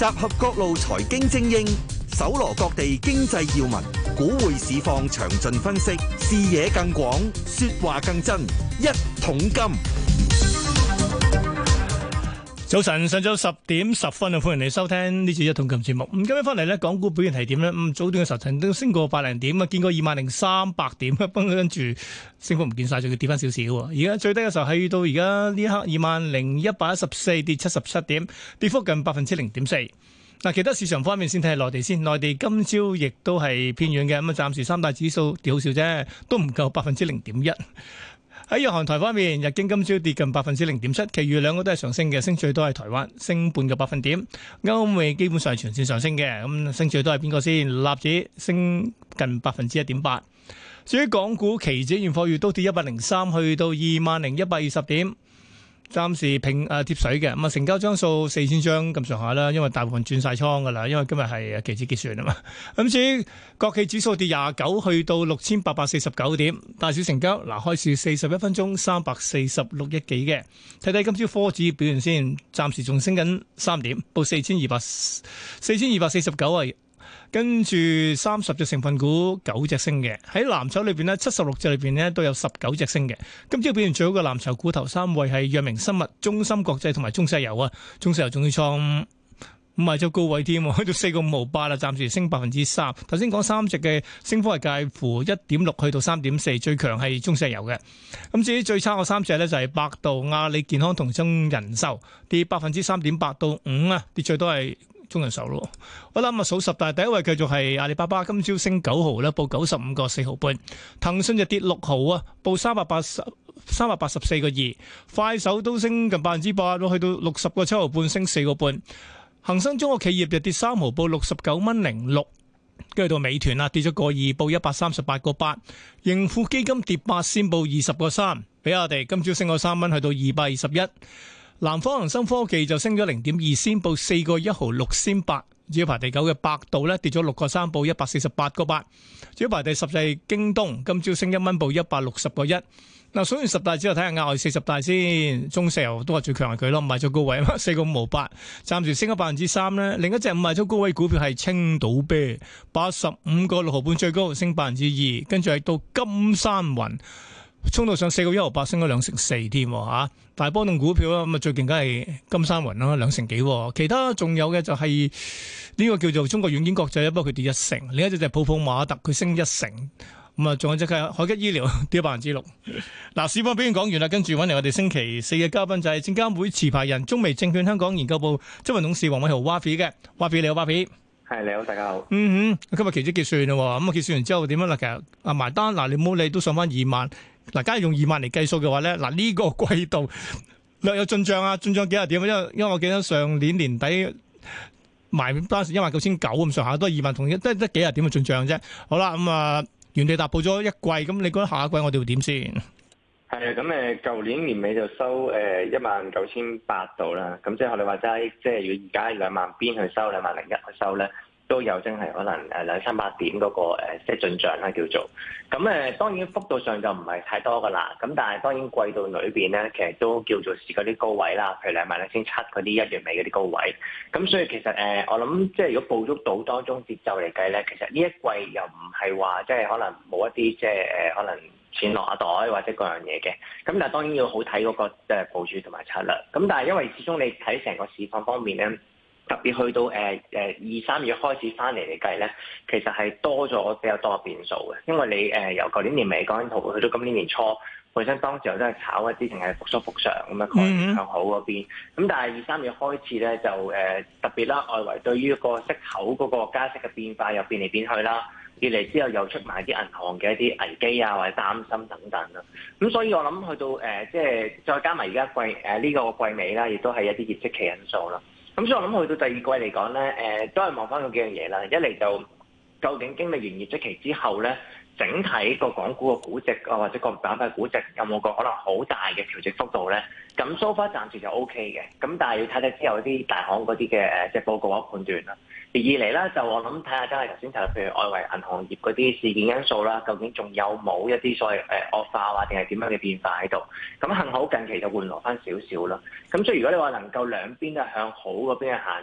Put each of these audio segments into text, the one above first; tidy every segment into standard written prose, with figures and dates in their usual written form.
集合各路財經精英，搜羅各地經濟要聞，股匯市況詳盡分析，視野更廣，說話更真。一桶金。 早晨，上晝10:10啊，歡迎你收聽呢次一桶金節目。咁今日翻嚟咧，港股表現係點咧？早段嘅時候曾經升過百零點啊，見過20,300點啊，跟住升幅唔見晒，仲要跌翻少少。而家最低嘅時候係到而家呢刻20,114，跌77點，跌幅近0.4%。嗱，其他市場方面先睇下內地先。內地今朝亦都係偏軟嘅，咁啊，暫時三大指數跌好少啫，都唔夠0.1%。喺日韓台方面，日經今朝跌近0.7%，其餘兩個都係上升嘅，升最多係台灣，升半個百分點。歐美基本上係全線上升嘅，咁升最多係邊個先？納指升近1.8%。至於港股期指現貨月都跌103，去到20,120點。暫時貼水嘅，咁啊成交張數4000張咁上下啦，因為大部分轉晒倉噶啦，因為今日係期指結算啊嘛。咁至於國企指數跌29，去到6849點，大小成交嗱開市41分鐘346億幾嘅。睇睇今朝科指表現先，暫時仲升緊3點，報4249啊。跟住30隻成分股9隻升嘅，喺藍籌裏邊呢76隻裏邊呢都有19隻升嘅。今朝表現最好嘅藍籌股頭3位係藥明生物、中芯國際同埋中石油啊，中石油仲要創5日高位添，去到4.58啦，暫時升3%。頭先講3隻嘅升幅係介乎1.6去到3.4，最強係中石油嘅。咁至於最差嘅3隻呢，就係百度、阿里健康同中人壽，跌3.8%到5啊，跌最多係中人壽咯。我諗啊數十大第一位繼續係阿里巴巴，今朝升9毫啦，報95個4毫半。騰訊就跌6毫啊，報384個2。快手都升近8%，去到60個7毫半，升4個半。恒生中國企業就跌3毫，報69.06。跟住到美團啦，跌咗個2，報138個8。盈富基金跌8仙，報20個3。比亞迪今朝升個3蚊，去到221。南方恒生科技就升咗0.2仙，報4個1毫6仙8。至於排第9嘅百度咧，跌咗6個3，報148個8。至於排第10就係京東，今朝升1蚊，報160個1。嗱，數完10大之後睇下額外40大先，中石油都係最強係佢咯，賣咗高位啊，4個5毫8，暫時升咗3%咧。另一隻賣咗高位股票係青島啤，85個6毫半最高，升2%。跟住係到金山雲，衝到上4個1毫8，升咗2.4%添嚇。大波動股票啦，咁啊最勁梗係金山雲啦，2成幾。其他仲有嘅就係呢個叫做中國軟件國際，不過佢跌1成。另一隻就係普普馬特，佢升1成。咁啊，仲有隻係海吉醫療跌6%。嗱，市況表現講完啦，跟住揾嚟我哋星期4嘅嘉賓就係證監會持牌人中微證券香港研究部執行董事黃偉豪 Wafi 嘅。Wafi 你好 Wafi。 係你好，大家好。 今日期指結算啦，咁啊結算完之後點樣啦？其實啊埋單嗱，你唔好理都上翻2萬。嗱，假如用2萬嚟計數嘅話咧，嗱呢個季度略有進賬啊，進賬幾廿點？因為我記得上年年底埋單時19,900咁上下，都係2萬同一得幾廿點嘅進賬啫。好啦，咁啊原地踏步咗一季，咁你覺得下一季我哋會點先？ 係啊，咁舊年年尾就收19,800度啦。咁即係我哋話齋，即係如果而家2萬邊去收20100去收咧，都有真係可能200-300點嗰個即係進賬啦叫做。咁當然幅度上就唔係太多噶啦。咁但係當然季度裏邊咧，其實都叫做試嗰啲高位啦，譬如22700嗰啲1月尾嗰啲高位。咁所以其實我諗即係如果捕捉到當中節奏嚟計咧，其實呢一季又唔係話即係可能冇一啲即係可能錢落下袋或者各樣嘢嘅。咁但係當然要好睇嗰個部署同埋策略。咁但係因為始終你睇成個市況方面咧，特別去到2-3月開始翻嚟計咧，其實係多咗比較多嘅變數嘅，因為你由舊年年尾講緊圖，去到今年年初，本身當時又都係炒一啲淨係復甦復常咁嘅概念向好嗰邊。咁但係2-3月開始咧，就特別啦，外圍對於個息口嗰個加息嘅變化又變嚟變去啦，二嚟之後又出埋啲銀行嘅一啲危機啊或者擔心等等啦。咁所以我諗去到即係再加埋而家呢個季尾啦，亦都係一啲業績期因素啦。咁所以我諗去到第二季嚟講咧，都係望翻嗰幾樣嘢啦。一嚟就究竟經歷完業績期之後咧，整體個港股個估值啊，或者個板塊估值有冇個可能好大嘅調整幅度咧？咁 so far 暫時就 OK 嘅。咁但係要睇睇之後啲大行嗰啲嘅即係報告或判斷啦。而二嚟咧，就我諗睇下真係頭先提到，譬如外圍銀行業嗰啲事件因素啦，究竟仲有冇一啲所謂惡化或定係點樣嘅變化喺度？咁幸好近期就緩和翻少少啦。咁所以如果你話能夠兩邊都係向好嗰邊去行咧，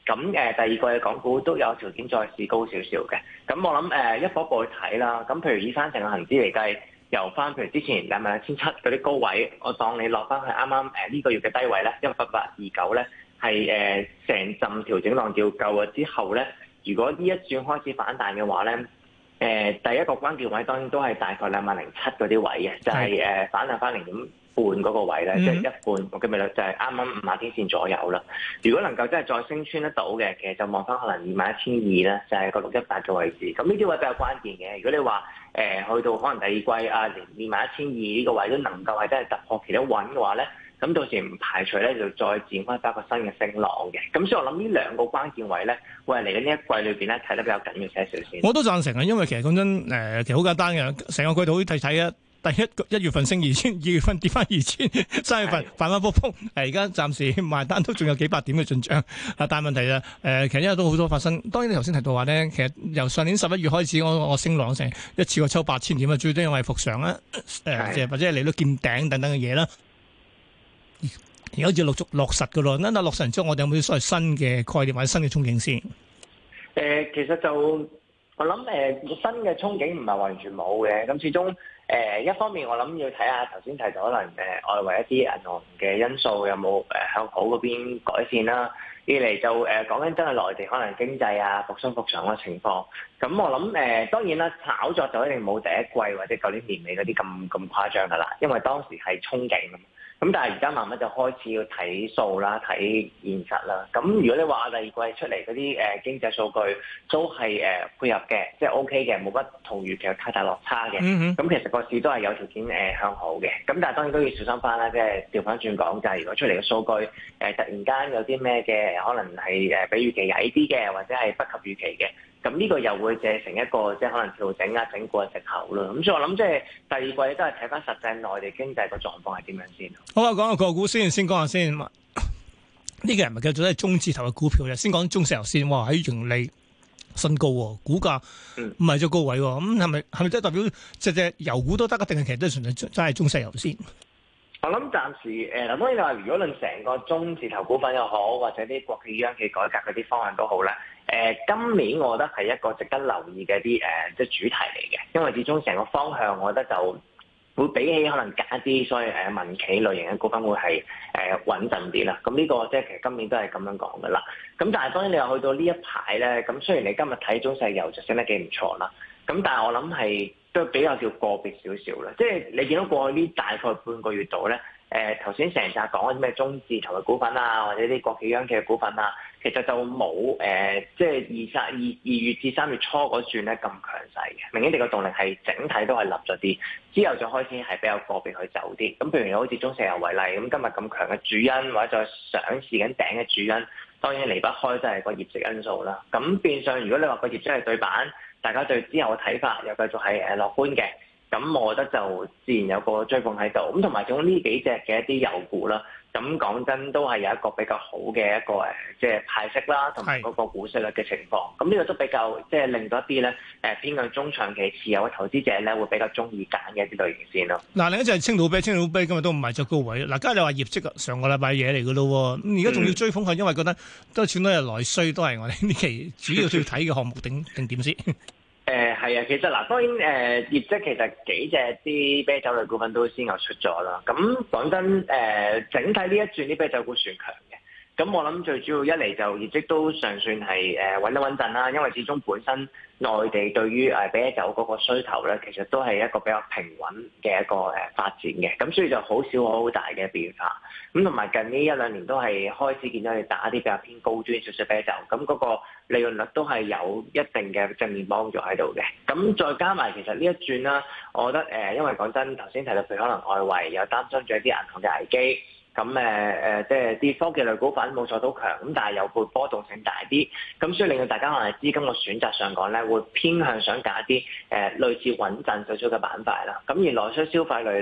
咁第二季嘅港股都有條件再試高少少嘅。咁我諗一步一步去睇啦。咁譬如以翻成個恆指嚟計，由翻譬如之前21,700嗰啲高位，我當你落翻去啱啱呢個月嘅低位咧，18829咧，係成陣調整浪調夠咗之後咧，如果呢一轉開始反彈嘅話咧，第一個關鍵位當然都係大概20,007嗰啲位嘅，就係反彈翻0.5嗰個位咧，即係一半，我記唔記得就係啱啱50天線左右啦。如果能夠真係再升穿得到嘅，其實就望翻可能21,200咧，就係個618嘅位置。咁呢啲位比較關鍵嘅。如果你話去到可能第二季連21,200呢個位都能夠係真係突破其他穩嘅話咧，咁到時唔排除咧就再展開翻一個新嘅升浪嘅。咁所以我諗呢兩個關鍵位咧，會係嚟緊呢一季裏邊咧睇得比較緊要些少先。 我都贊成啊，因為其實講真，其實好簡單嘅，成個季度好睇啊。第一月份升2,000，2月份跌翻2,000， 3月份反反覆覆，而家暫時埋單都仲有幾百點嘅進賬。但係問題就其實因為都好多發生。當然你頭先提到話咧，其實由上年11月開始，我升浪成一次過抽8,000點啊，最多因為復常啦，或者係利率見頂等等嘅嘢啦。而家好似陸續落實㗎咯。嗱，落實完之後，我哋有冇啲所謂新嘅概念或者新嘅憧憬先？ 其實就我諗新嘅憧憬唔係完全冇嘅。咁始終一方面我諗要睇下頭先提到可能外圍一啲銀行嘅因素有冇向好嗰邊改善啦。二嚟就講緊真係內地可能經濟復常嘅情況。咁我諗當然啦，炒作就一定冇第一季或者舊年年尾嗰啲咁誇張㗎啦，因為當時係憧憬咁。咁但係而家慢慢就開始要睇數啦，睇現實啦。咁如果你話第二季出嚟嗰啲經濟數據都係配合嘅，即係 OK 嘅，冇乜同預期有太大落差嘅。咁其實個市都係有條件向好嘅。咁但係當然都要小心翻啦，即係調翻轉講就係如果出嚟嘅數據突然間有啲咩嘅，可能係比預期矮啲嘅，或者係不及預期嘅。咁呢個又會借成一個即係可能調整整固嘅藉口啦。咁所以我諗即係第二季都係睇翻實際內地經濟個狀況係點樣先。 好啊，講下個股先講下先。呢個人咪繼續都係中字頭嘅股票嘅，先講中石油先。哇，喺盈利新高，股價唔係咗高位，咁係咪真係代表隻油股都得，定係其實都純粹真係中石油先？ 我諗暫時當然話，如果論成個中字頭股份又好，或者啲國企央企改革嗰啲方案都好咧。今年我覺得係一個值得留意嘅啲即係主題嚟嘅，因為始終成個方向，我覺得就會比起可能加啲所謂民企類型嘅股份會係穩陣啲啦。咁呢個即係其實今年都係咁樣講噶啦。咁但係當然你又去到呢一排咧，咁雖然你今日睇中石油就升得幾唔錯啦，咁但係我諗係都比較叫個別少少啦。即係你見到過去呢大概半個月度咧。頭先成扎講嗰啲咩中字頭嘅股份啊，或者啲國企央企嘅股份啊，其實就冇即係二月至3月初嗰轉咧咁強勢嘅，明顯地個動力係整體都係立咗啲，之後就開始係比較個別去走啲。咁譬如好似中石油為例，咁今日咁強嘅主因或者再上試緊頂嘅主因，當然離不開都係個業績因素啦。咁變相如果你話個業績係對版，大家對之後嘅睇法又繼續係樂觀嘅。咁我覺得就自然有個追捧喺度，咁同埋仲有呢幾隻嘅一啲油股啦，咁講真都係有一個比較好嘅一個即係派息啦，同埋嗰個股息率嘅情況。咁呢個都比較即係令到一啲咧偏向中長期持有嘅投資者咧會比較中意揀嘅一啲類型先咯。 嗱，另一隻係青島啤今日都唔係咗高位。嗱，今日你話業績上個禮拜嘢嚟嘅咯，咁而家仲要追捧係因為覺得都係全都係內需，都係我哋呢期主要要睇嘅項目定點先。 係啊，其實嗱，當然業績其實幾隻啲啤酒類股份都先後出咗啦。咁講真整體呢一轉啲啤酒股算強嘅。咁我諗最主要一嚟就業績都尚算係穩得穩陣啦，因為始終本身內地對於啤酒嗰個需求咧，其實都係一個比較平穩嘅一個發展嘅，咁所以就好少好大嘅變化。咁同埋近呢一兩年都係開始見到你打啲比較偏高端少少啤酒，咁嗰個利潤率都係有一定嘅正面幫助喺度嘅。咁再加埋其實呢一轉啦，我覺得因為講真頭先提到譬如可能外圍有擔心住一啲銀行嘅危機。咁即係啲科技類股份冇錯都強，咁但係又會波動性大啲，咁所以令到大家可能資金嘅選擇上講咧，會偏向想揀一啲類似穩陣少少嘅板塊啦。咁而內需消費類咧，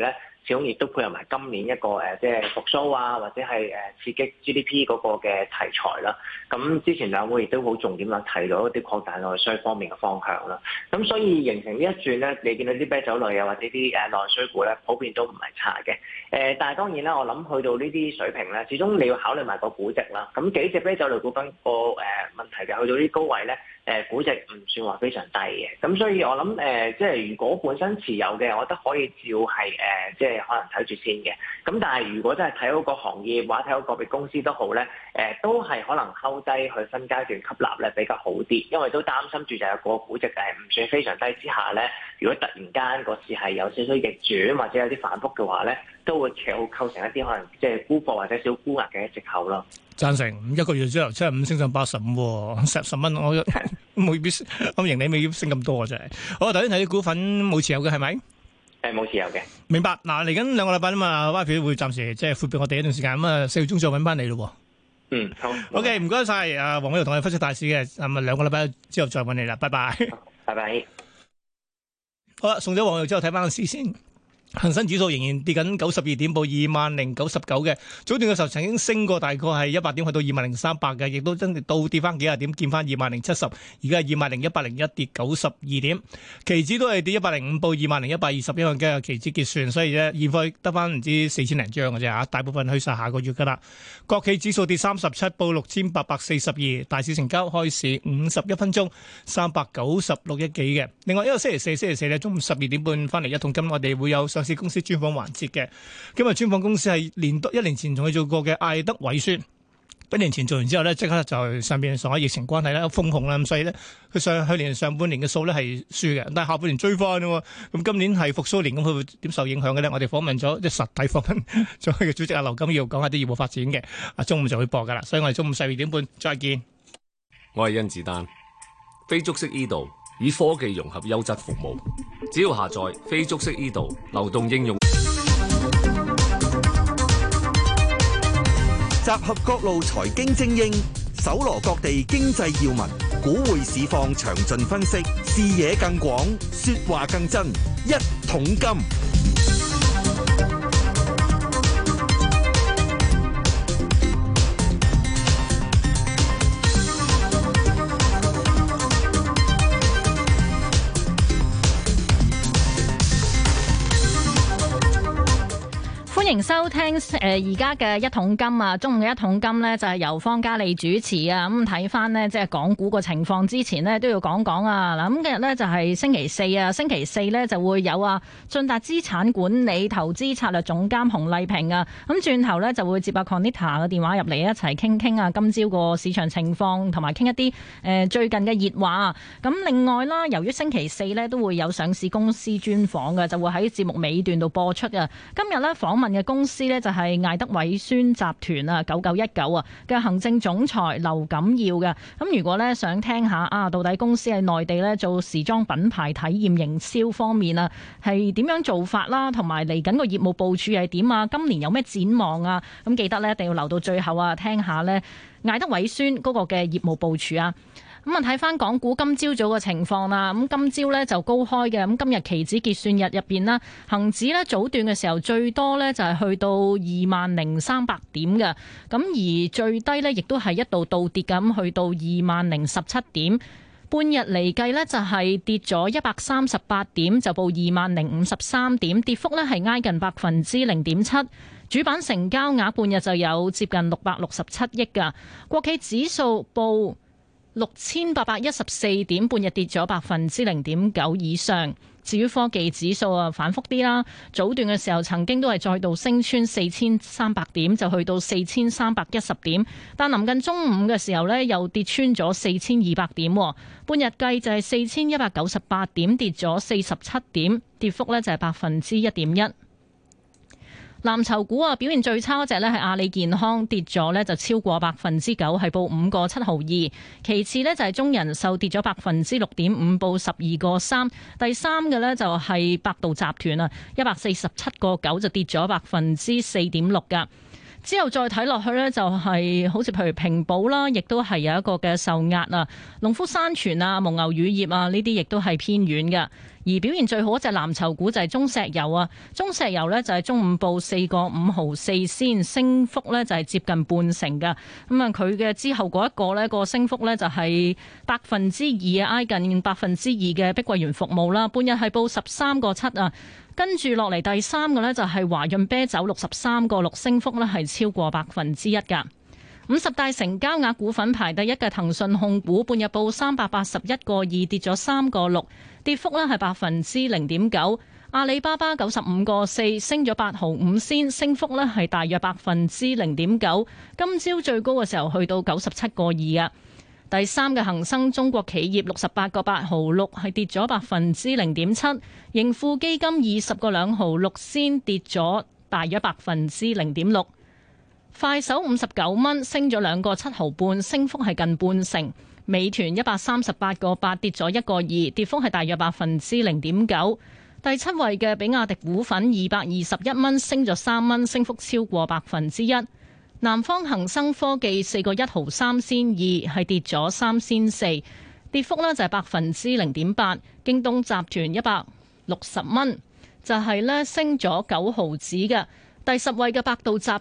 始終亦都配合埋今年一個即係復甦啊，或者係刺激 GDP 嗰個嘅題材啦。咁之前兩會亦都好重點啦，提到一啲擴大內需方面嘅方向啦。咁所以形成呢一轉咧，你見到啲啤酒類啊或者啲內需股咧，普遍都唔係差嘅。但係當然啦，我諗去到呢啲水平咧，始終你要考慮埋個估值啦。咁幾隻啤酒類股份個問題就去到啲高位咧，估值唔算話非常低嘅。咁所以我諗即係如果本身持有嘅，我覺得可以照係即係可能睇住先嘅。咁但係如果真係睇好個行業或者睇好個別公司都好咧，都係可能睺低去分階段吸納咧比較好啲，因為都擔心住就係個估值唔算非常低之下咧，如果突然間個市係有少少逆轉或者有啲反覆嘅話咧，都會構成一啲可能即係沽貨或者小沽額嘅藉口咯。 贊成一個月之後75升上85，十蚊我未必咁盈利未必升咁多啊！真係。好，頭先睇啲股份冇持有嘅係咪？ 冇持有嘅。明白。嗱，嚟緊2個禮拜啊嘛，YP 會暫時即係闊別我哋一段時間，咁啊4月中再揾翻你咯。 好。 OK，唔該晒。黃偉豪同我哋分析大市嘅，咁啊2個禮拜之後再揾你啦，拜拜。 拜拜。 好啦，送咗黃偉豪之後睇翻個市先。恒生指數仍然跌緊92點，報20,099嘅。早段嘅時候曾經升過大概係100點，去到20,300嘅，亦都真係倒跌翻幾廿點，見翻20,070。而家係20,101，跌92點。期指都係跌105，報20,120，因為今日期指結算，所以咧現貨得翻唔知4000零張嘅啫嚇，大部分去晒下個月噶啦。國企指數跌37，報6,842。大市成交開市51分鐘396億幾嘅。另外一個星期四咧，中午12點半翻嚟一桶金，我哋會有上市公司專訪環節嘅。今日專訪公司係1年前同佢做過嘅艾德偉宣。1年前做完之後咧，即刻就上邊上海疫情關係咧封控啦，咁所以咧佢去年上半年嘅數咧係輸嘅，但係下半年追翻咯。咁今年係復甦年，咁佢會點受影響嘅咧？我哋訪問咗即係實體訪問咗佢嘅主席阿劉金耀，講下啲業務發展嘅。中午就會播噶啦，所以我哋中午12點半再見。 我係甄子丹，非足式 e 道以科技融合優質服務，只要下載非足式 e 道流動應用。 集合各路財經精英，搜羅各地經濟要聞，股匯市況詳盡分析，視野更廣，說話更真。一桶金。 歡迎收聽而家嘅一桶金啊！中午嘅一桶金呢，就係由方嘉利主持啊！咁睇翻呢，即係港股個情況之前呢，都要講講啊！嗱，咁今日呢，就係星期四啊，星期四呢，就會有啊晉達資產管理投資策略總監洪麗萍啊！咁轉頭呢，就會接阿 Conita 嘅電話入嚟一齊傾傾啊今朝個市場情況，同埋傾一啲最近嘅熱話。咁另外啦，由於星期四呢，都會有上市公司專訪嘅，就會喺節目尾段度播出啊！今日呢，訪問嘅公司呢，就係艾德偉宣集團啊9919啊嘅行政總裁劉錦耀嘅。咁如果呢，想聽下到底公司喺內地呢做時裝品牌體驗營銷方面啊係點樣做法啦，同埋嚟緊個業務部署係點啊？今年有咩展望啊？咁記得呢，一定要留到最後啊，聽下呢艾德偉宣嗰個嘅業務部署啊！咁啊，睇翻港股今朝早嘅情況啦。咁今朝呢就高開嘅。咁今日期指結算日入邊啦，恒指呢早段嘅時候最多呢就係去到20,300點嘅。咁而最低呢亦都係一度倒跌咁，去到20,017點。半日嚟計呢就係跌咗138點，就報20,053點，跌幅呢係挨近0.7%。主板成交額半日就有接近667億㗎。國企指數報6,814點，半日跌咗0.9%以上。至於科技指數啊，反覆啲啦。早段嘅時候曾經都係再度升穿4,300點，就去到4,310點。但臨近中午嘅時候呢，又跌穿咗4,200點。半日計就係4,198點，跌咗47點，跌幅呢就係1.1%。藍籌股啊，表現最差嗰隻呢係阿里健康，跌咗呢就超過9%，係報5個7毫2。其次呢就係中人壽，跌咗6.5%，報12個3。第三嘅呢就係百度集團啊，147個9就跌咗4.6%噶。 之後再睇落去呢，就係好似譬如平保啦，亦都係有一個嘅受壓啊。農夫山泉啊、蒙牛乳業啊呢啲亦都係偏軟嘅。而表現最好一隻藍籌股就係中石油啊，中石油呢就係中午報4.5毫4仙，升幅呢就係接近半成㗎。咁啊，佢嘅之後嗰一個呢個升幅呢就係2%啊，挨近2%嘅碧桂園服務啦，半日係報13.7啊。跟住落嚟第三個呢，就係華潤啤酒63.6，升幅呢係超過1%㗎。50大成交額股份排第一嘅騰訊控股，半日報381.2，跌咗3.6，跌幅呢係0.9%。阿里巴巴95.4，升咗8毫5仙，升幅呢係大約0.9%。今朝最高嘅時候去到97.2啊。第三嘅恒生中國企業68.8毫6，係跌咗0.7%。盈富基金20.2毫6仙，跌咗大約0.6%。快手59蚊，升咗2.7毫半，升幅係近半成。美團138.8，跌咗1.2，跌幅係大約0.9%。第七位嘅比亞迪股份221蚊，升咗3蚊，升幅超過1%。南方恒生科技4.1毫3仙2，係跌咗3仙4，跌幅呢就係0.8%。京東集團160蚊，就係呢升咗9毫子嘅。第10位嘅百度集團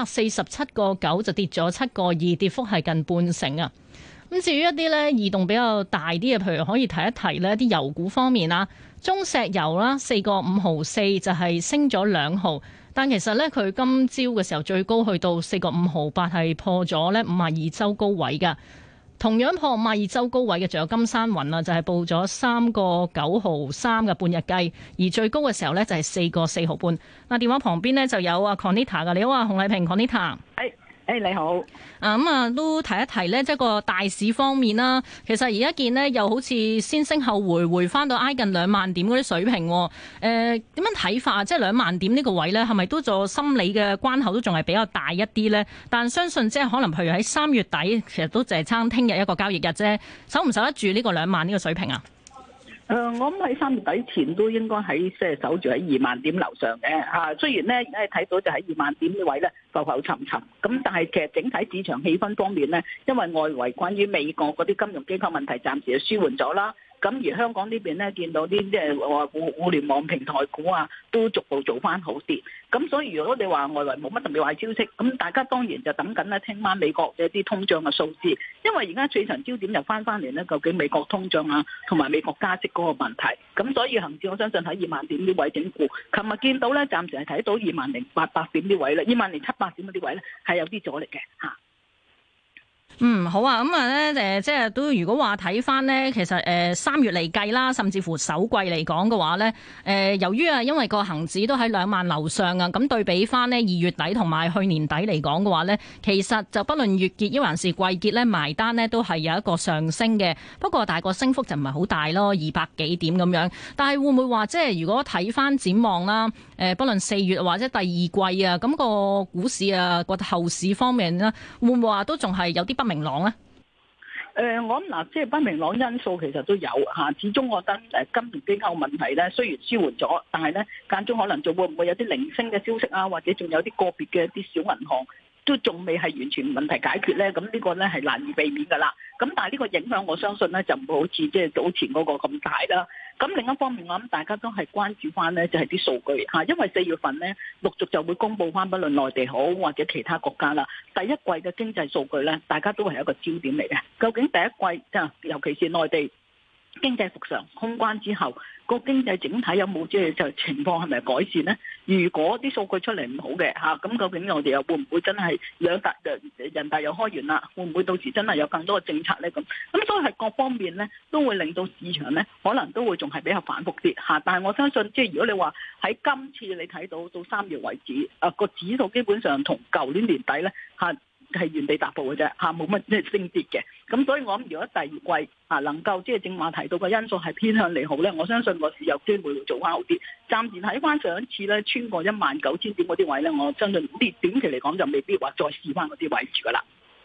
147.9，就跌咗7.2，跌幅係近半成啊。咁至於一啲呢異動比較大啲嘅，譬如可以提一提呢啲油股方面啦，中石油啦4.5毫4，就係升咗2毫。但其實呢，佢今朝嘅時候最高去到4.5毫8，係破咗呢52周高位㗎。同樣破52周高位嘅仲有金山雲啊，就係報咗3.9毫3嘅半日計，而最高嘅時候呢，就係4.4毫半。嗱，電話旁邊呢，就有啊 Conita 㗎，你好啊，洪麗萍 Conita。 你好。 都提一提呢，即係個大市方面啦。其實而家見呢，又好似先升後回翻到挨近2萬點嗰啲水平。點樣睇法？即係2萬點呢個位呢，係咪都做心理嘅關口都仲係比較大一啲呢？但相信即係可能，譬如喺3月底，其實都淨係差聽日一個交易日啫，守唔守得住呢個2萬呢個水平啊？ 我諗喺3月底前都應該喺即係守住喺2萬點樓上嘅嚇。雖然咧而家睇到就喺2萬點呢位咧浮浮沉沉，咁但係其實整體市場氣氛方面咧，因為外圍關於美國嗰啲金融機構問題暫時就舒緩咗啦。咁而香港呢邊咧見到啲即係話互聯網平台股啊，都逐步做翻好啲。咁所以如果你話外圍冇乜特別壞消息，咁大家當然就等緊咧聽晚美國嘅一啲通脹嘅數字，因為而家最長焦點就翻嚟咧，究竟美國通脹啊同埋美國加息嗰個問題。咁所以恒指我相信喺2萬點呢位整固。琴日見到咧，暫時係睇到20800點呢位咧，20700點嗰啲位咧係有啲阻力嘅嚇。 好啊，即係都如果話睇翻呢，其實3月嚟計啦，甚至乎首季嚟講嘅話呢，由於因為個恒指都喺2萬樓上啊，咁對比翻呢2月底同埋去年底嚟講嘅話呢，其實就不論月結抑還是季結呢，埋單呢都係有一個上升嘅。不過大個升幅就唔係好大咯，200幾點咁樣。但係會唔會話即係如果睇翻展望啦，不論4月或者第二季啊，咁個股市啊個後市方面呢，會唔會話都仲係有啲不明朗咧？ 我諗嗱，即係不明朗因素其實都有嚇。始終我覺得金融機構問題咧，雖然舒緩咗，但係咧間中可能仲會唔會有啲零星嘅消息啊，或者仲有啲個別嘅一啲小銀行都仲未係完全問題解決咧。咁呢個咧係難以避免㗎啦。咁但係呢個影響我相信咧就唔會好似即係早前嗰個咁大啦。咁另一方面，我諗大家都係關注翻呢，就係啲數據嚇，因為4月份呢，陸續就會公布翻，不論內地好或者其他國家啦，第一季嘅經濟數據呢，大家都係一個焦點嚟嘅。究竟第一季尤其是內地經濟復常通關之後，個經濟整體有冇即係就情況係咪改善呢？如果啲數據出嚟唔好嘅嚇，咁究竟我哋又會唔會真係人大又開完啦？會唔會到時真係有更多嘅政策呢？咁所以係各方面呢都會令到市場呢可能都會仲係比較反覆啲嚇。但係我相信即係如果你話喺今次你睇到3月為止，個指數基本上同舊年年底呢嚇係原地踏步嘅啫嚇，冇乜即係升跌嘅。咁所以我諗如果第二季能夠即係正話提到嘅因素係偏向利好咧，我相信個市有機會會做翻好啲。暫時睇翻上一次咧穿過19000點嗰啲位咧，我相信呢短期嚟講就未必話再試翻嗰啲位置噶啦。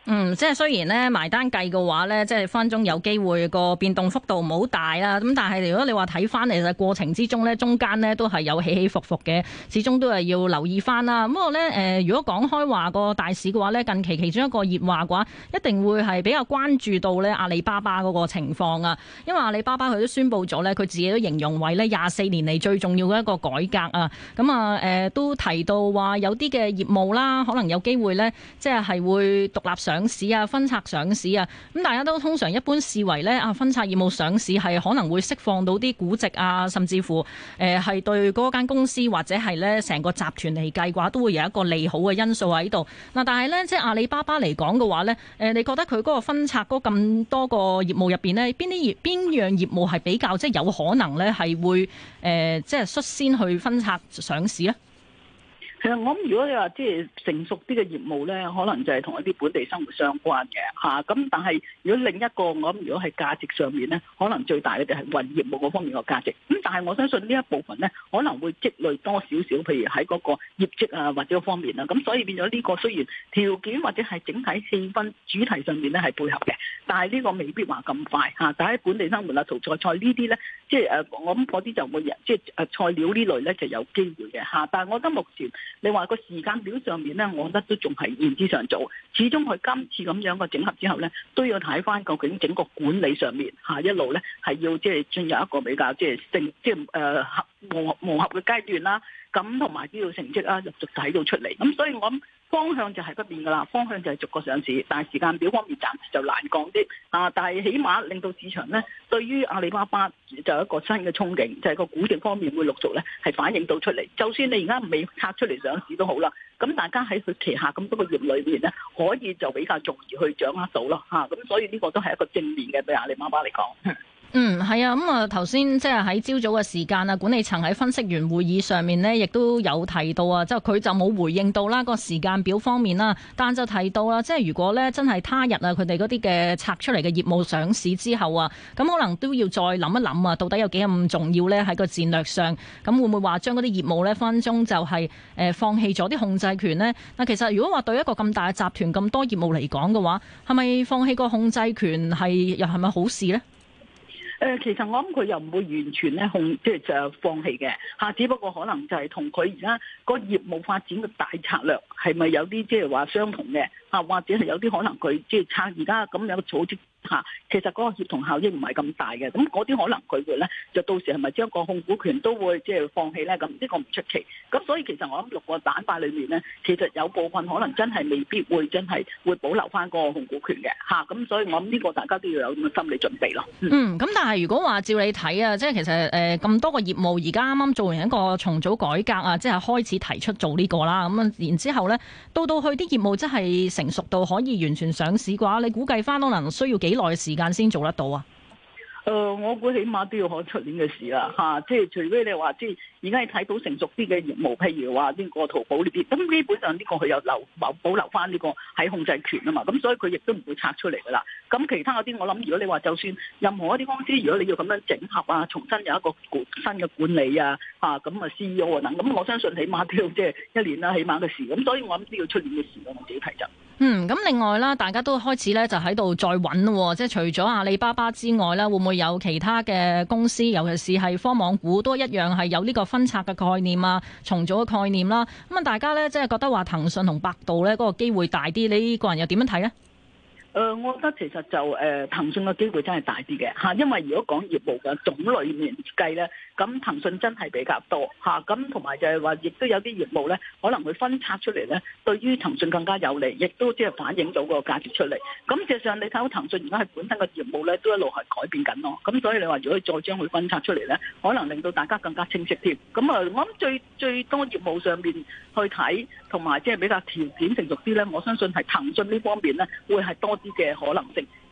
即係雖然咧埋單計嘅話咧，即係分鐘有機會個變動幅度唔好大啦。咁但係如果你話睇翻嚟嘅過程之中咧，中間咧都係有起起伏伏嘅，始終都係要留意翻啦。不過咧如果講開話個大市嘅話咧，近期其中一個熱話嘅話，一定會係比較關注到咧阿里巴巴嗰個情況啊。因為阿里巴巴佢都宣布咗咧，佢自己都形容為咧24年嚟最重要嘅一個改革啊。咁都提到話有啲嘅業務啦，可能有機會咧，即係會獨立上市啊，分拆上市啊，咁大家都通常一般視為咧分拆業務上市係可能會釋放到啲估值啊，甚至乎係對嗰間公司或者係咧成個集團嚟計嘅話，都會有一個利好嘅因素喺度。嗱，但係咧即係阿里巴巴嚟講嘅話咧，你覺得佢嗰個分拆嗰咁多個業務入邊咧，邊樣業務係比較即係有可能咧係會即係率先去分拆上市咧？ 其實我諗，如果你話即係成熟啲嘅業務咧，可能就係同一啲本地生活相關嘅嚇。咁但係如果另一個我諗，如果係價值上面咧，可能最大嘅就係雲業務嗰方面個價值。咁但係我相信呢一部分咧，可能會積累多少少，譬如喺嗰個業績啊或者方面啦。咁所以變咗呢個雖然條件或者係整體氣氛主題上面咧係配合嘅，但係呢個未必話咁快嚇。但係本地生活啊、淘菜呢啲咧，即係我諗嗰啲就會即係菜料呢類咧就有機會嘅嚇。但係我覺得目前你話個時間表上面咧，我覺得都仲係言之尚早。始終佢今次咁樣個整合之後咧，都要睇翻究竟整個管理上面嚇一路咧係要即係進入一個比較即係磨合嘅階段啦。咁同埋都要成績啦，陸續睇到出嚟。咁所以我諗方向就係不變噶啦，方向就係逐個上市，但係時間表方面暫時就難講啲啊。但係起碼令到市場咧對於阿里巴巴就有一個新嘅憧憬，就係個估值方面會陸續咧係反映到出嚟。就算你而家未拆出嚟上市都好啦，咁大家喺佢旗下咁多個業裏面咧，可以就比較容易去掌握到咯嚇。咁所以呢個都係一個正面嘅對阿里巴巴嚟講。 係啊，咁頭先即係喺朝早嘅時間啊，管理層喺分析員會議上面呢，亦都有提到啊，即係佢就冇回應到啦個時間表方面啦，但就提到啦，即係如果呢真係他日啊，佢哋嗰啲嘅拆出嚟嘅業務上市之後啊，咁可能都要再諗一諗啊，到底有幾咁重要呢？喺個戰略上，咁會唔會話將嗰啲業務呢分分鐘就係放棄咗啲控制權呢？嗱，其實如果話對一個咁大嘅集團咁多業務嚟講嘅話，係咪放棄個控制權又係咪好事呢？ 其實我諗佢又唔會完全咧即係就放棄嘅嚇，只不過可能就係同佢而家個業務發展嘅大策略係咪有啲即係話相同嘅嚇，或者係有啲可能佢即係撐而家咁樣嘅組織嚇，其實嗰個協同效應唔係咁大嘅，咁嗰啲可能佢會咧就到時係咪將個控股權都會即係放棄咧？咁呢個唔出奇。咁所以其實我諗6個板塊裏面咧，其實有部分可能真係未必會真係會保留翻個控股權嘅嚇。咁所以我諗呢個大家都要有咁嘅心理準備咯。咁但係如果話照你睇啊，即係其實咁多個業務而家啱啱做完一個重組改革啊，即係開始提出做呢個啦。咁然之後咧，到去啲業務真係成熟到可以完全上市嘅話，你估計翻可能需要幾耐時間先做得到啊？ 我估起碼都要可出年嘅事啦嚇，即係除非你話即係而家你睇到成熟啲嘅業務，譬如話呢個淘寶呢啲，咁基本上呢個佢有保留翻呢個喺控制權啊嘛，咁所以佢亦都唔會拆出嚟噶啦。咁其他嗰啲我諗，如果你話就算任何一啲公司，如果你要咁樣整合啊，重新有一個新嘅管理啊，咁啊 CEO 啊等，咁我相信起碼都要即係1年啦，起碼嘅事。咁所以我諗都要出年嘅事咯，我自己睇就。 咁另外啦，大家都開始咧就喺度再揾喎，即係除咗阿里巴巴之外咧，會唔會有其他嘅公司，尤其是係科網股都一樣係有呢個分拆嘅概念啊、重組嘅概念啦。咁啊，大家咧即係覺得話騰訊同百度咧嗰個機會大啲，你個人又點樣睇呢？ 我覺得其實就騰訊嘅機會真係大啲嘅嚇，因為如果講業務嘅種類面計咧，咁騰訊真係比較多嚇，咁同埋就係話，亦都有啲業務咧，可能會分拆出嚟咧，對於騰訊更加有利，亦都即係反映到個價值出嚟。咁事實上你睇到騰訊而家係本身嘅業務咧，都一路係改變緊咯。咁所以你話如果再將佢分拆出嚟咧，可能令到大家更加清晰添。咁我諗最多業務上面去睇，同埋即係比較條件成熟啲咧，我相信係騰訊呢方面咧會係多啲嘅可能性。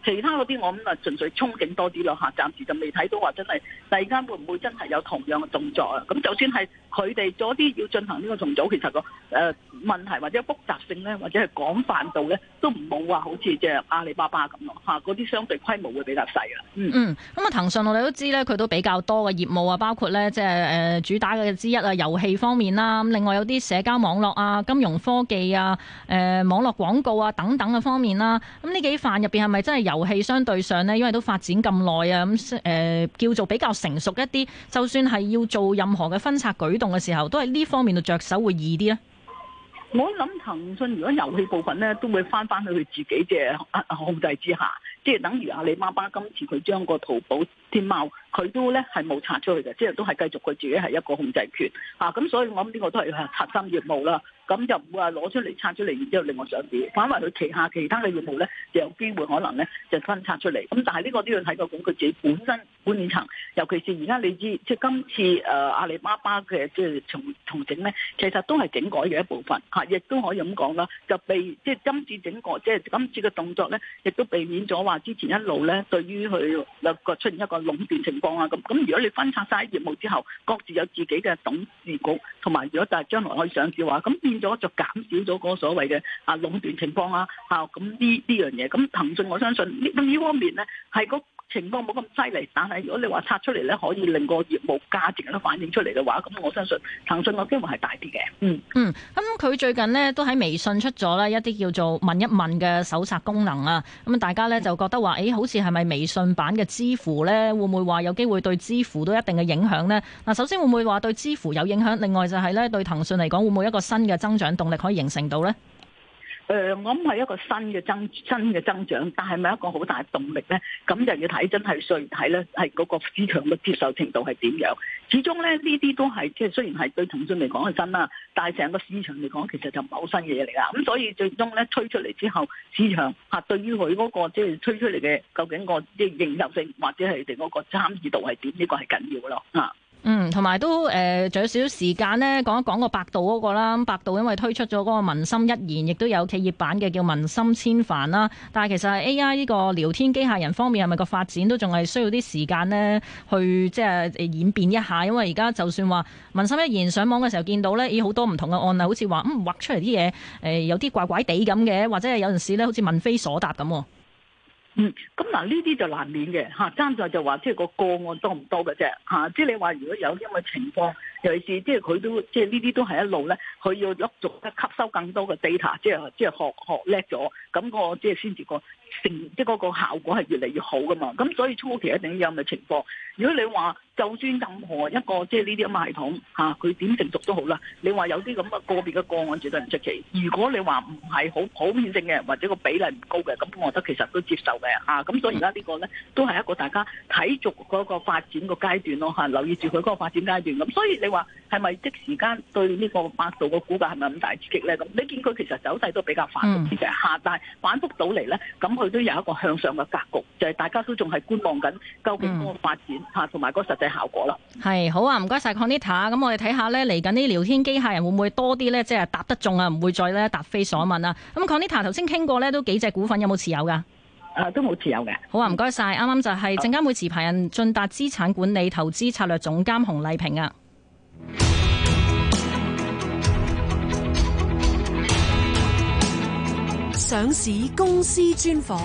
其他嗰啲我諗純粹憧憬多啲咯嚇，暫時就未睇到話真係第二間會唔會真係有同樣嘅動作啊？咁就算係佢哋嗰啲要進行呢個重組，其實個問題或者複雜性咧，或者係廣泛度咧，都唔冇話好似即係阿里巴巴咁咯嚇，嗰啲相對規模會比較細啦。 咁騰訊我哋都知咧，佢都比較多嘅業務啊，包括咧即係主打嘅之一啊，遊戲方面啦，咁另外有啲社交網絡啊、金融科技啊、網絡廣告啊等等嘅方面啦。咁呢幾範入邊係咪真係遊戲相對上呢？因為都發展咁耐啊，咁叫做比較成熟一啲，就算係要做任何嘅分拆舉動嘅時候，都係呢方面度着手會易啲咧。 我諗騰訊如果遊戲部分咧，都會翻去佢自己嘅控制之下，即係等於阿里巴巴今次佢將個淘寶、天貓佢都咧係冇拆出去嘅，即係都係繼續佢自己係一個控制權嚇，咁所以我諗呢個都係核心業務啦。咁就唔會話攞出嚟拆出嚟，然之後另外上市，反為佢旗下其他嘅業務咧，就有機會可能咧就分拆出嚟。咁但係呢個都要睇究竟佢自己本身管理層，尤其是而家你知，即係今次阿里巴巴嘅即係重整咧，其實都係整改嘅一部分嚇，亦都可以咁講啦。就即係今次整改，即係今次嘅動作咧，亦都避免咗話之前一路咧對於佢有個出現一個壟斷情況啊。咁如果你分拆晒業務之後，各自有自己嘅董事局，同埋如果就係將來可以上市嘅話，咁變咗就減少咗嗰個所謂嘅壟斷情況啦嚇，咁呢樣嘢，咁騰訊我相信呢方面咧係個情況冇咁犀利，但係如果你話拆出嚟咧，可以令個業務價值都反映出嚟嘅話，咁我相信騰訊個機會係大啲嘅。 咁佢最近呢都喺微信出咗咧一啲叫做問一問嘅搜查功能啊，咁大家咧就覺得話，好似係咪微信版嘅支付咧，會唔會話有機會對支付都一定嘅影響呢？嗱，首先會唔會話對支付有影響？另外就係咧對騰訊嚟講，會唔會一個新嘅增長動力可以形成到呢？ 我諗係一個新嘅增長，但係咪一個好大動力咧？咁就要睇真係需要睇咧，係嗰個市場嘅接受程度係點樣？始終咧呢啲都係即係雖然係對騰訊嚟講係新啦，但係成個市場嚟講其實就唔係好新嘅嘢嚟㗎。咁所以最終咧推出嚟之後，市場對於佢嗰個即係推出嚟嘅究竟個即係認受性或者係哋嗰個參與度係點？呢個係緊要嘅咯同埋都仲有少少時間呢，講一講個百度嗰個啦。百度因為推出咗嗰個文心一言，亦都有企業版嘅叫文心千帆啦。但係其實 AI 呢個聊天機械人方面係咪個發展都仲係需要啲時間呢？去即係演變一下。因為而家就算話文心一言上網嘅時候見到呢，好多唔同嘅案例，好似話畫出嚟啲嘢有啲怪怪地咁嘅，或者係有陣時呢好似問非所答咁。 咁嗱呢啲就難免嘅嚇，爭在就話即係個個案多唔多嘅啫嚇，即係你話如果有咁嘅情況，尤其是即係佢都即係呢啲都係一路咧，佢要一逐一吸收更多嘅 data，即係學叻咗，咁個即係先至個即係嗰個效果係越嚟越好噶嘛。咁所以初期一定有咁嘅情況。如果你話就算任何一個即係呢啲咁嘅系統嚇，佢點成熟都好啦，你話有啲咁嘅個別嘅個案絕對唔出奇。如果你話唔係好普遍性嘅，或者個比例唔高嘅，咁我覺得其實都接受嘅嚇。咁所以而家呢個咧都係一個大家睇續嗰個發展個階段咯嚇，留意住佢嗰個發展階段。咁所以你話係咪即時間對呢個百度個股價係咪咁大刺激咧？咁你見佢其實走勢都比較反覆啲嘅嚇，但係反覆到嚟咧，咁佢都有一個向上嘅格局，就係大家都仲係觀望緊究竟嗰個發展嚇同埋嗰個實際效果啦。 係好啊，唔該晒 Conita。咁我哋睇下咧，嚟緊啲聊天機械人會唔會多啲咧？即係答得中啊，唔會再咧答非所問啊。咁 Conita 頭先傾過咧，都幾隻股份有冇持有㗎？ 都冇持有嘅。 好啊，唔該晒。啱啱就係證監會持牌人晉達資產管理投資策略總監洪麗萍啊。 上市公司專訪。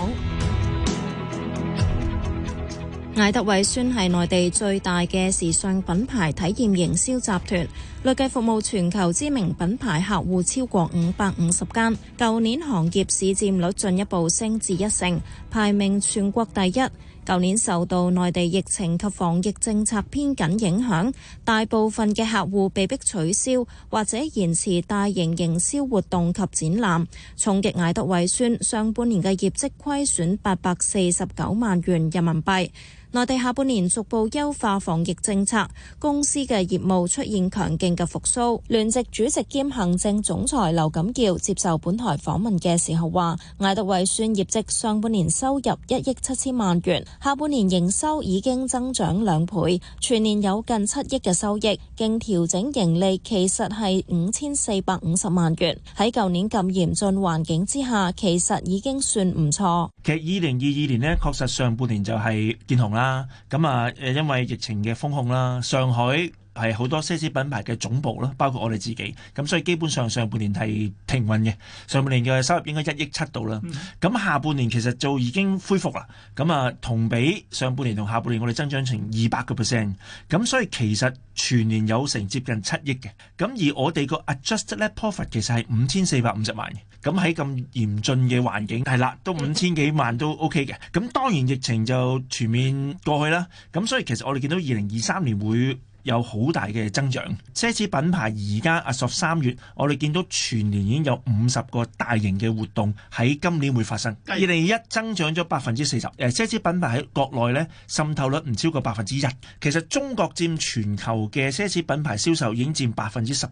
艾特韋宣係內地最大嘅時尚品牌體驗營銷集團，累計服務全球知名品牌客戶超過550間。舊年行業市佔率進一步升至1成，排名全國第一。舊年受到內地疫情及防疫政策偏緊影響，大部分嘅客戶被迫取消或者延遲大型營銷活動及展覽，衝擊艾特韋宣上半年嘅業績虧損849萬元人民幣。內地下半年逐步優化防疫政策，公司嘅業務出現強勁嘅復甦。聯席主席兼行政總裁劉錦耀接受本台訪問嘅時候話，艾特韋宣業績上半年收入1億7千萬元，下半年營收已經增長2倍，全年有近7億嘅收益，經調整盈利其實係5450萬元。喺舊年咁嚴峻環境之下，其實已經算唔錯。 其實2022年呢，確實上半年就係見紅啦。咁啊，因為疫情嘅封控啦，上海係好多奢侈品牌嘅總部啦，包括我哋自己，咁所以基本上上半年係平穩嘅。上半年嘅收入應該1億7度啦。咁下半年其實就已經恢復啦。咁啊，同比上半年同下半年我哋增長成200%。咁所以其實全年有成接近7億嘅。咁而我哋個 adjusted net profit 其實係5450萬嘅。咁喺咁嚴峻嘅環境係啦，都5000幾萬都 OK 嘅。咁當然疫情就全面過去啦。咁所以其實我哋見到2023年會有好大嘅增長。奢侈品牌而家as of 3月，我哋見到全年已經有50個大型嘅活動喺今年會發生。2021增長咗40%。奢侈品牌喺國內咧滲透率唔超過1%。其實中國佔全球嘅奢侈品牌銷售已經佔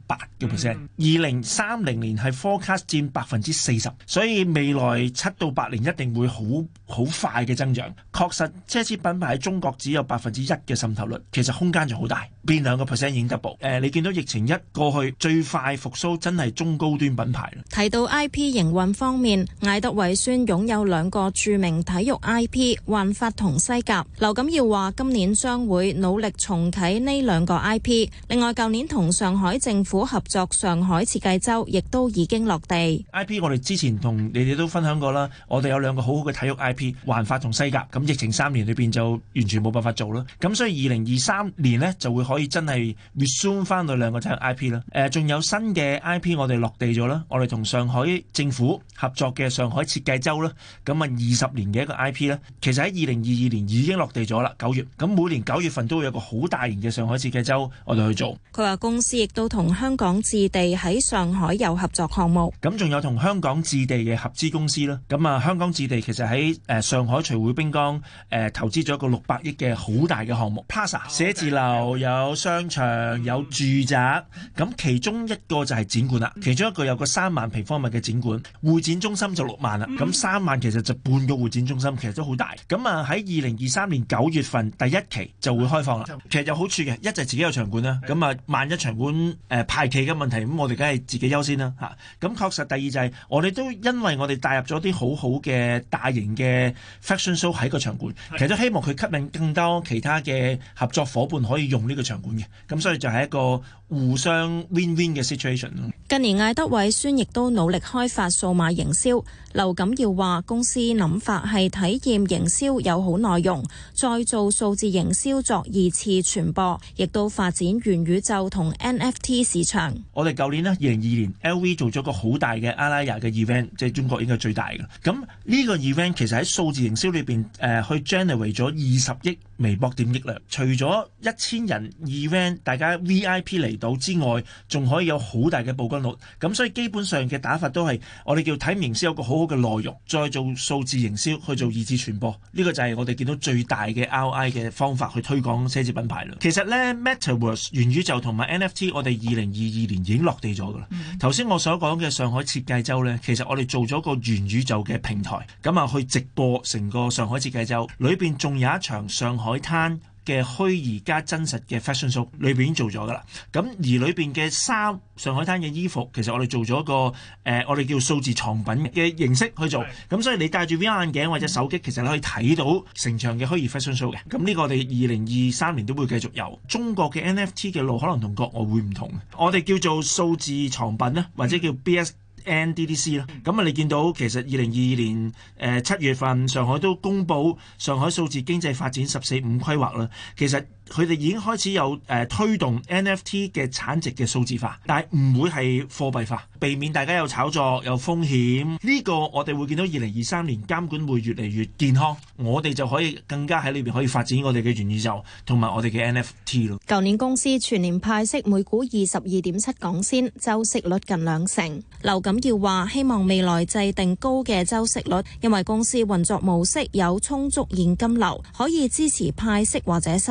18%。2030年係 forecast 佔40%，所以未來7到8年一定會好快嘅增長。確實奢侈品牌喺中國只有1%嘅滲透率，其實空間就好大。變2%已經 double。你見到疫情一過去，最快復甦真係中高端品牌。 提到 IP 營運方面，艾德維宣擁有2個著名體育 IP， 環法同西甲。劉錦耀話今年將會努力重啟呢2個 IP。另外，舊年同上海政府合作上海設計周，亦都已經落地。 IP 我哋之前同你哋都分享過啦，我哋有2個好好嘅體育 IP， 環法同西甲。咁疫情3年裏邊就完全冇辦法做啦。咁所以2023年呢就會可以真係 resume 翻到2個體育 IP 啦。仲有新嘅 IP 我哋落地咗啦，我哋同上海政府合作嘅上海設計周啦。咁啊20年嘅一個 IP 咧，其實喺2022年已經落地咗啦，9月。咁每年9月份都會有個好大型嘅上海設計周，我哋去做。 佢話公司亦都同香港置地喺上海有合作項目。 咁仲有同香港置地嘅合資公司啦。咁啊香港置地其實喺上海徐匯濱江投資咗一個600億嘅好大嘅項目 ，Plaza 寫字樓有商場有住宅，咁其中一個就係展館啦。其中一個有個3萬平方米嘅展館，會展中心就6萬啦。咁3萬其實就半個會展中心，其實都好大。咁啊喺2023年9月份第1期就會開放啦。其實有好處嘅，一就係自己有場館啦。咁啊萬一場館排期嘅問題，咁我哋梗係自己優先啦嚇。咁確實第二就係我哋都因為我哋帶入咗啲好好嘅大型嘅 fashion show 喺個場館，其實都希望佢吸引更多其他嘅合作夥伴可以用呢個場館嘅。咁所以就係一個互相 win-win 嘅 situation。 近年艾德偉宣亦都努力開發數碼營銷。劉錦耀話公司諗法係體驗營銷有好內容，再做數字營銷作2次傳播，亦都發展元宇宙同 NFT 市場。 我哋舊年呢2022年 LV 做咗個好大嘅阿拉雅嘅 event， 即係中國應該最大嘅。咁呢個 event 其實喺數字營銷裏邊去 generate 咗20億微博點擊量。除咗1000人 event 大家 VIP 嚟到之外，仲可以有好大嘅曝光率。咁所以基本上嘅打法都係我哋叫體驗營銷有個好好嘅內容，再做數字營銷去做2次傳播。呢個就係我哋見到最大嘅 ROI 嘅方法去推廣奢侈品牌啦。其實咧 Metaverse 元宇宙同埋 NFT 我哋2022年已經落地咗噶啦。頭先我所講嘅上海設計周咧，其實我哋做咗個元宇宙嘅平台，咁啊去直播成個上海設計周，裏邊仲有一場上海灘嘅虛擬加真實嘅 fashion show， 裏邊已經做咗噶啦。咁而裏邊嘅衫、上海灘嘅衣服，其實我哋做咗個我哋叫數字藏品嘅形式去做。咁所以你戴住 VR 眼鏡或者手機，其實你可以睇到成場嘅虛擬 fashion show 嘅。咁呢個我哋2023年都會繼續有。中國嘅 NFT 嘅路可能同國外會唔同，我哋叫做數字藏品啦，或者叫 NDDC 啦，咁啊你見到其實2022年7月份上海都公布上海數字經濟發展14-5規劃啦，其實佢哋已經開始有推動 NFT 嘅產值嘅數字化，但係唔會係貨幣化，避免大家有炒作有風險。呢個我哋會見到2023年監管會越嚟越健康，我哋就可以更加喺裏邊可以發展我哋嘅元宇宙同埋我哋嘅 NFT 咯。 舊年公司全年派息每股22.7港仙，周息率近2成。劉錦耀話希望未來制定高嘅周息率，因為公司運作模式有充足現金流，可以支持派息或者收購。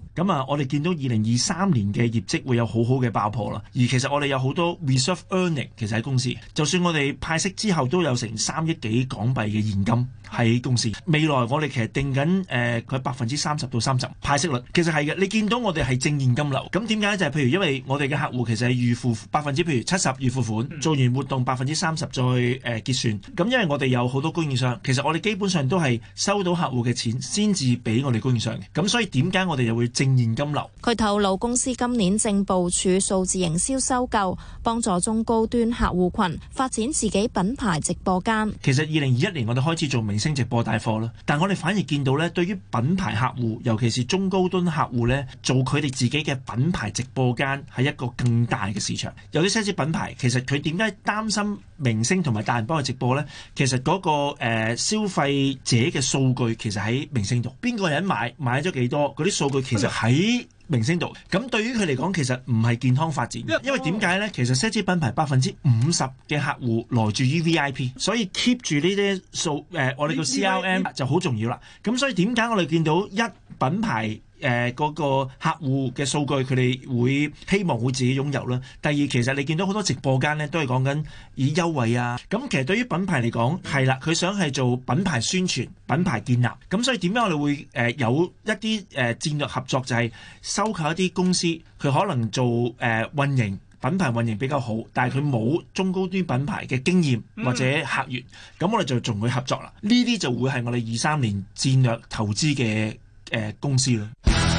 咁啊，我哋見到2023年嘅業績會有好好嘅爆破啦。而其實我哋有好多 reserve earning 其實喺公司，就算我哋派息之後都有成3億幾港幣嘅現金喺公司。未來我哋其實定緊佢30%到30%派息率，其實係嘅。你見到我哋係正現金流，咁點解就係譬如因為我哋嘅客戶其實係預付譬如70%預付款，做完活動30%再結算。咁因為我哋有好多供應商，其實我哋基本上都係收到客戶嘅錢先至俾我哋供應商嘅。咁所以點解我哋又會正現金流？ 佢透露公司今年正部署數字營銷收購，幫助中高端客戶群發展自己品牌直播間。 其實2021年我哋開始做明星直播帶貨啦，但我哋反而見到咧，對於品牌客戶，尤其是中高端客戶咧，做佢哋自己嘅品牌直播間係一個更大嘅市場。有啲奢侈品牌其實佢點解擔心明星同埋大人幫佢直播呢？其實嗰個消費者嘅數據其實喺明星度，邊個人買咗幾多，嗰啲數據其實喺明星度。咁對於佢嚟講，其實唔係健康發展，因為點解呢？其實奢侈品牌50%嘅客戶來自於 VIP， 所以 keep 住呢啲數我哋叫 CRM 就好重要啦。咁所以點解我哋見到品牌嗰個客戶嘅數據，佢哋會希望會自己擁有啦。第二，其實你見到好多直播間咧，都係講緊以優惠啊。咁其實對於品牌嚟講，係啦，佢想係做品牌宣傳、品牌建立。咁所以點解我哋會有一啲戰略合作，就係收購一啲公司，佢可能做運營。品牌運營比較好，但係佢冇中高端品牌嘅經驗或者客源，咁我哋就同佢合作啦。呢啲就會係我哋23年戰略投資嘅公司啦。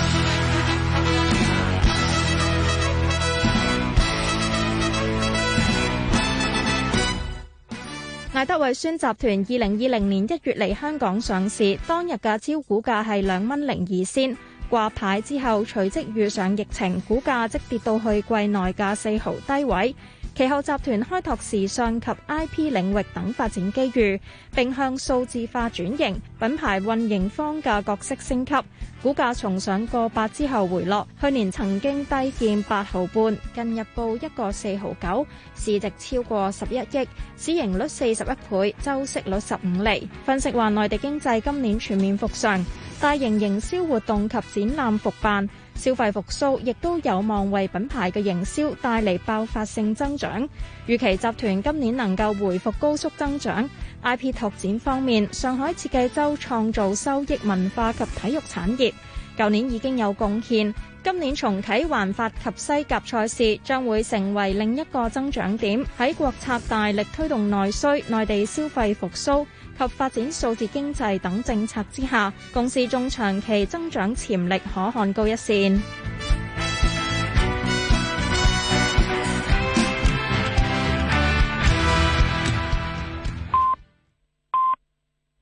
艾德韋宣集團2020年1月嚟香港上市，當日嘅招股價係2.02蚊。掛牌之後，隨即遇上疫情，股價即跌到去季內嘅4毫低位。其後集團開拓時尚及 IP 領域等發展機遇，並向數字化轉型，品牌運營方嘅角色升級。股價重上個8之後回落，去年曾經低見8毫半，近日報1個4毫9，市值超過11億，市盈率41倍，周息率15厘。分析話，內地經濟今年全面復常，大型營銷活動及展覽復辦，消費復甦亦都有望為品牌嘅營銷帶嚟爆發性增長。預期集團今年能夠回復高速增長。IP 拓展方面，上海設計周創造收益文化及體育產業，舊年已經有貢獻，今年重啟環法及西甲賽事，將會成為另一個增長點。喺國策大力推動內需、內地消費復甦及發展數字經濟等政策之下，公司中長期增長潛力可看高一線。